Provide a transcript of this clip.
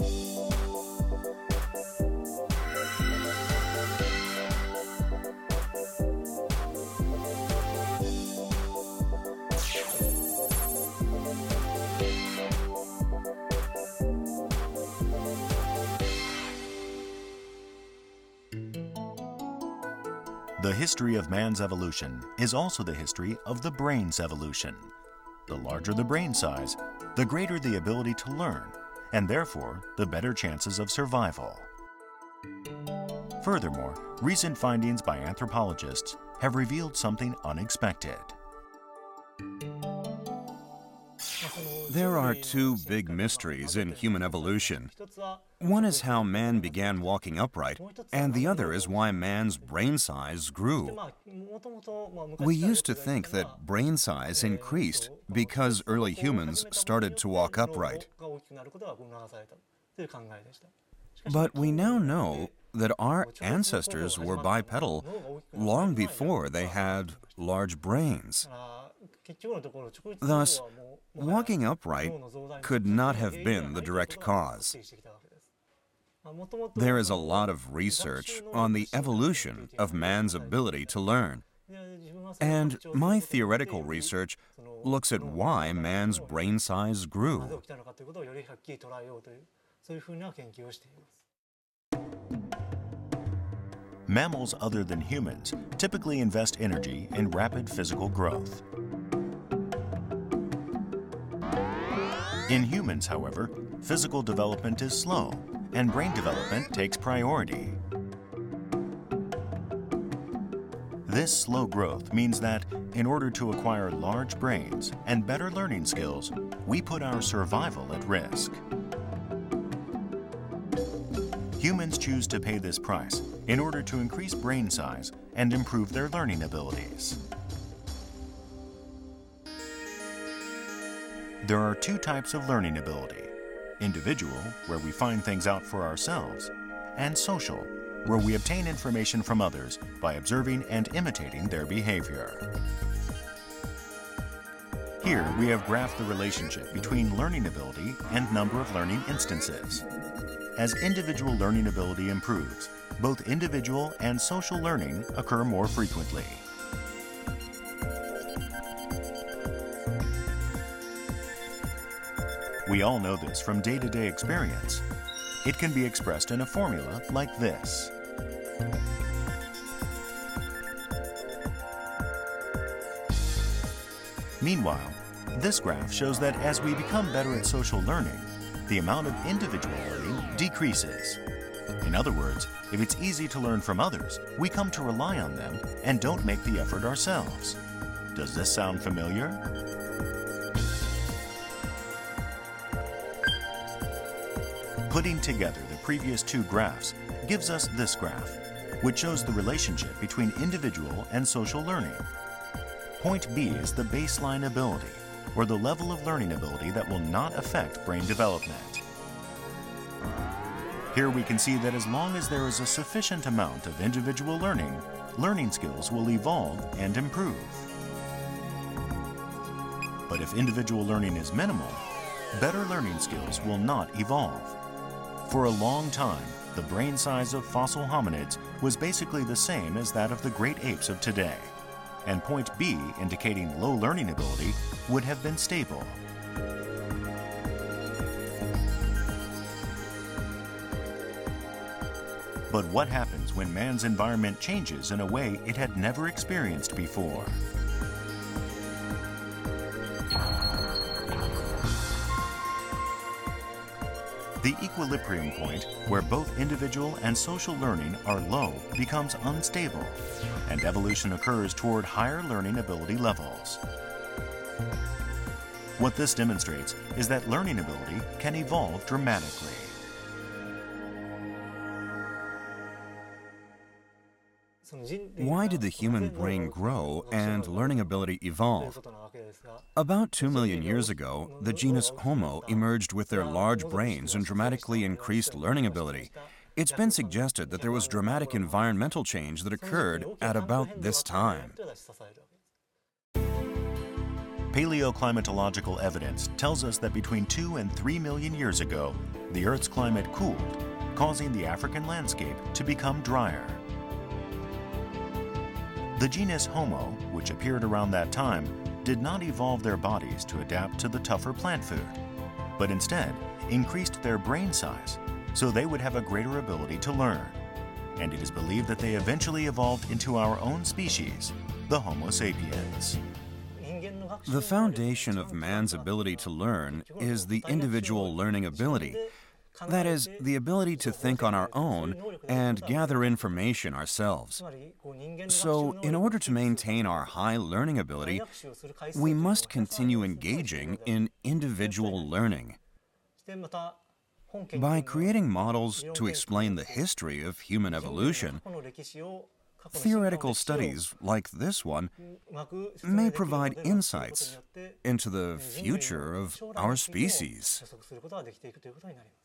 The history of man's evolution is also the history of the brain's evolution. The larger the brain size, the greater the ability to learn, and therefore the better chances of survival. Furthermore, recent findings by anthropologists have revealed something unexpected. There are two big mysteries in human evolution. One is how man began walking upright, and the other is why man's brain size grew. We used to think that brain size increased because early humans started to walk upright. But we now know that our ancestors were bipedal long before they had large brains. Thus, walking upright could not have been the direct cause. There is a lot of research on the evolution of man's ability to learn. And my theoretical research looks at why man's brain size grew. Mammals other than humans typically invest energy in rapid physical growth. In humans, however, physical development is slow, and brain development takes priority. This slow growth means that, in order to acquire large brains and better learning skills, we put our survival at risk. Humans choose to pay this price in order to increase brain size and improve their learning abilities. There are two types of learning ability: individual, where we find things out for ourselves, and social, where we obtain information from others by observing and imitating their behavior. Here we have graphed the relationship between learning ability and number of learning instances. As individual learning ability improves, both individual and social learning occur more frequently. We all know this from day-to-day experience. It can be expressed in a formula like this. Meanwhile, this graph shows that as we become better at social learning, the amount of individual learning decreases. In other words, if it's easy to learn from others, we come to rely on them and don't make the effort ourselves. Does this sound familiar? Putting together the previous two graphs gives us this graph, which shows the relationship between individual and social learning. Point B is the baseline ability, or the level of learning ability that will not affect brain development. Here we can see that as long as there is a sufficient amount of individual learning, learning skills will evolve and improve. But if individual learning is minimal, better learning skills will not evolve. For a long time, the brain size of fossil hominids was basically the same as that of the great apes of today, and point B, indicating low learning ability, would have been stable. But what happens when man's environment changes in a way it had never experienced before? The equilibrium point, where both individual and social learning are low, becomes unstable, and evolution occurs toward higher learning ability levels. What this demonstrates is that learning ability can evolve dramatically. Why did the human brain grow and learning ability evolve? About 2 million years ago, the genus Homo emerged with their large brains and dramatically increased learning ability. It's been suggested that there was dramatic environmental change that occurred at about this time. Paleoclimatological evidence tells us that between 2 and 3 million years ago, the Earth's climate cooled, causing the African landscape to become drier. The genus Homo, which appeared around that time, did not evolve their bodies to adapt to the tougher plant food, but instead increased their brain size so they would have a greater ability to learn. And it is believed that they eventually evolved into our own species, the Homo sapiens. The foundation of man's ability to learn is the individual learning ability. That is, the ability to think on our own and gather information ourselves. So, in order to maintain our high learning ability, we must continue engaging in individual learning. By creating models to explain the history of human evolution, theoretical studies like this one may provide insights into the future of our species.